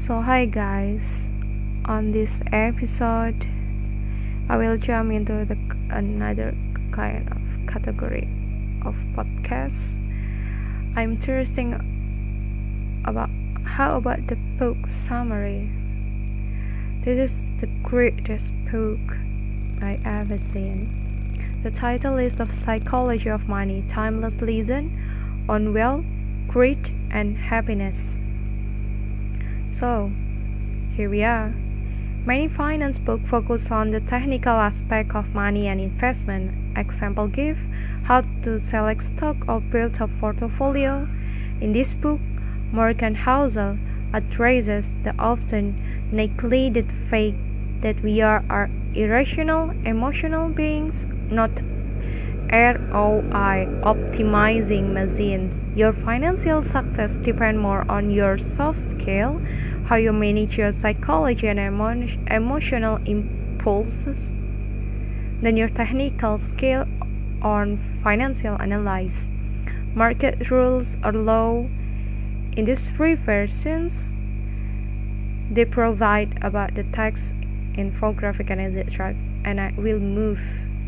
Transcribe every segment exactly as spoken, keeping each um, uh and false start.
So hi guys, on this episode I will jump into the another kind of category of podcast. I'm interesting about how about the book summary. This is the greatest book I ever seen. The title is The Psychology of Money, Timeless Lesson on Wealth, Greed and Happiness. So, here we are. Many finance books focus on the technical aspect of money and investment. Example give how to select stock or build a portfolio. In this book, Morgan Housel addresses the often neglected fact that we are, are irrational, emotional beings, not R O I optimizing machines. Your financial success depends more on your soft skill, how you manage your psychology and emo- emotional impulses, than your technical skill on financial analysis. Market rules are low. In these three versions, they provide about the text, infographic, and et cetera. And I will move.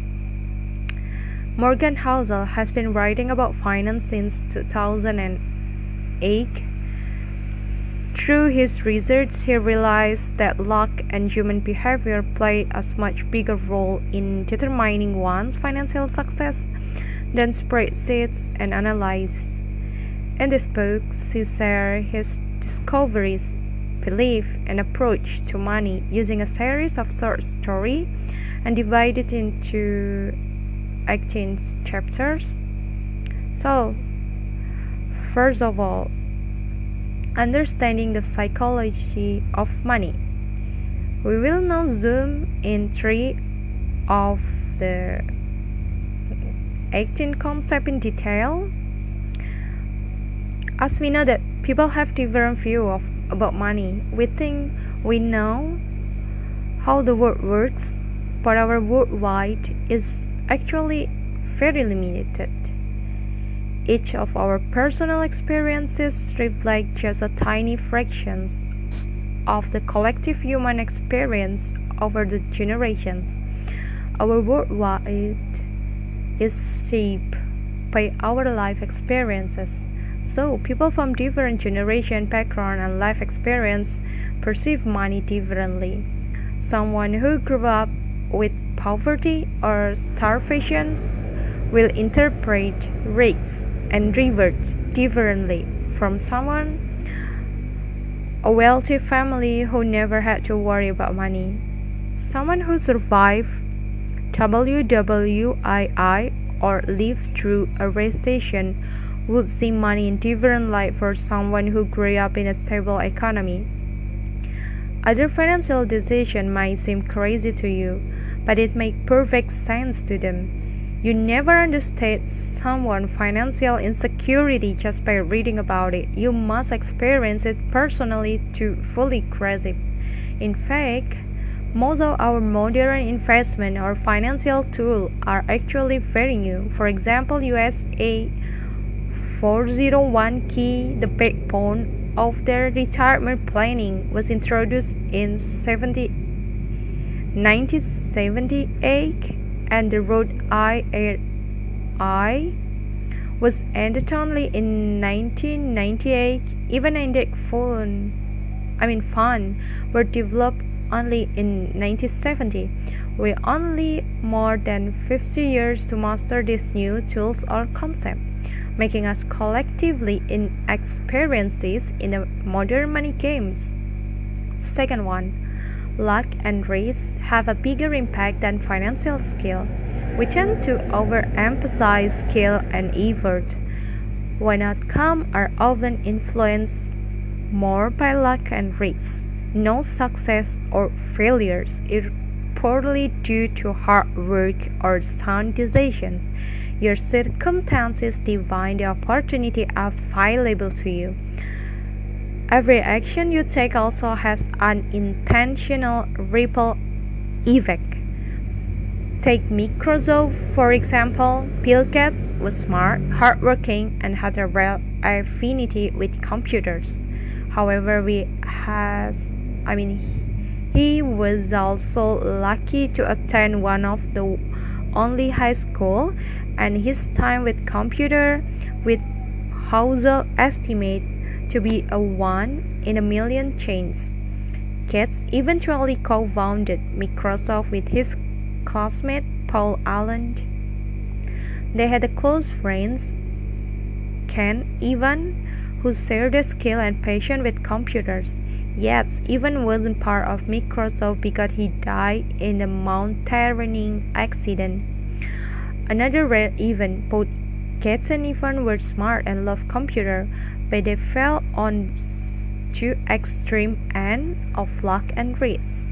Morgan Housel has been writing about finance since two thousand eight. Through his research, he realized that luck and human behavior play a much bigger role in determining one's financial success than spreadsheets and analysis. In this book, he shares his discoveries, belief, and approach to money using a series of short stories and divided into eighteen chapters. So, first of all, understanding the psychology of money. We will now zoom in three of the eighteen concepts in detail. As we know that people have different view of about money. We think we know how the world works, but our worldwide is actually very limited. Each of our personal experiences reflect just a tiny fraction of the collective human experience over the generations. Our worldwide is shaped by our life experiences. So, people from different generation, background, and life experience perceive money differently. Someone who grew up with poverty or starvation will interpret risks and rewards differently from someone a wealthy family who never had to worry about money. Someone who survived W W I or lived through a recession would see money in different light for someone who grew up in a stable economy. Other financial decisions might seem crazy to you, but it makes perfect sense to them. You never understand someone's financial insecurity just by reading about it. You must experience it personally to fully grasp it. In fact, most of our modern investment or financial tools are actually very new. For example, U S A four oh one K, the backbone of their retirement planning, was introduced in nineteen seventy-eight, and the Roth I R A was ended only in nineteen ninety-eight. Even index fund, I mean fund, were developed only in nineteen seventy. We only more than fifty years to master these new tools or concepts, making us collectively inexperienced in the modern money games. Second one, luck and risk have a bigger impact than financial skill. We tend to overemphasize skill and effort, when outcomes are often influenced more by luck and risk. No success or failures is purely due to hard work or sound decisions. Your circumstances define the opportunity available to you. Every action you take also has an intentional ripple effect. Take Microsoft, for example. Bill Gates was smart, hardworking, and had a rare affinity with computers. However, we has I mean he was also lucky to attend one of the only high school, and his time with computer with Hauser estimate to be a one in a million chance. Gates eventually co-founded Microsoft with his classmate Paul Allen. They had a close friends, Ken Evan, who shared a skill and passion with computers. Yet, Evan wasn't part of Microsoft because he died in a mountaineering accident. Another rare event, both Gates and Evan were smart and loved computers, but they fell on two extreme ends of luck and risk.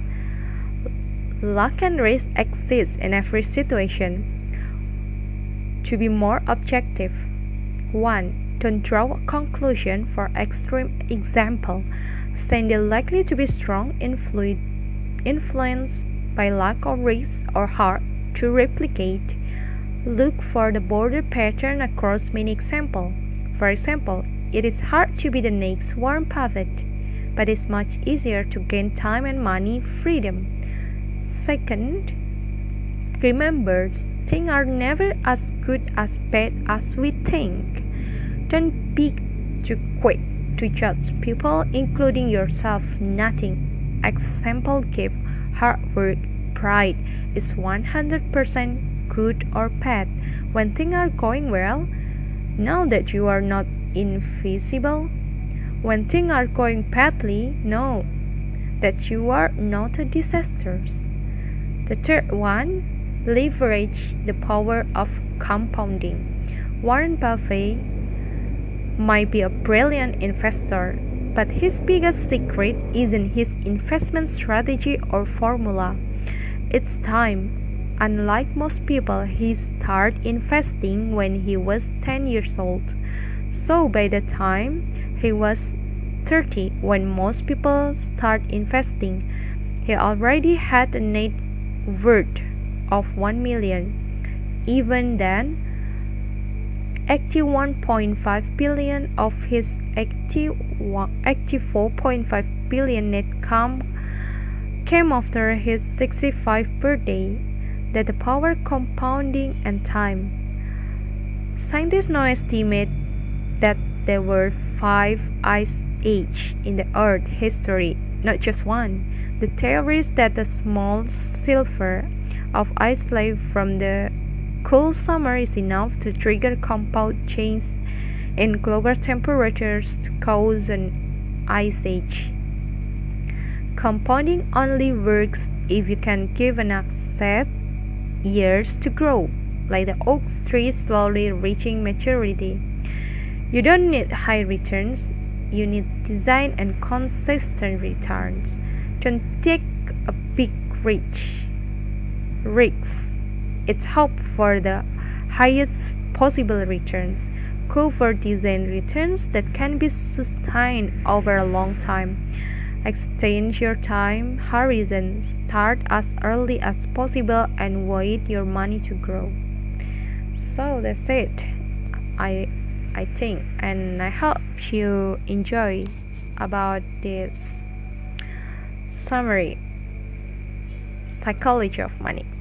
Luck and risk exist in every situation. To be more objective, one. Don't draw a conclusion. For extreme example, saying they're likely to be strong influ- influenced by luck or risk or hard to replicate. Look for the border pattern across many examples. For example, it is hard to be the next Warren Buffett, but it's much easier to gain time and money freedom. Second, remember, things are never as good as bad as we think. Don't be too quick to judge people, including yourself. Nothing. Example give hard work, pride is one hundred percent good or bad. When things are going well, know that you are not invisible. When things are going badly, know that you are not a disaster. The third one, leverage the power of compounding. Warren Buffett might be a brilliant investor, but his biggest secret isn't his investment strategy or formula. It's time. Unlike most people, he started investing when he was ten years old. So by the time he was thirty, when most people start investing, he already had a net worth of one million. Even then, eighty-one point five billion of his eighty-four point five billion net income came after his sixty-fifth birthday. That the power compounding and time. Scientists now estimate that there were five ice ages in the Earth history, not just one. The theory is that the small silver of ice left from the cool summer is enough to trigger compound change in global temperatures to cause an ice age. Compounding only works if you can give an asset years to grow, like the oak tree slowly reaching maturity. You don't need high returns, you need design and consistent returns. Don't take a big risk. Risks. It's hope for the highest possible returns. Go for design returns that can be sustained over a long time. Extend your time horizon. Start as early as possible and wait your money to grow. So that's it. I I think, and I hope you enjoy about this summary psychology of money.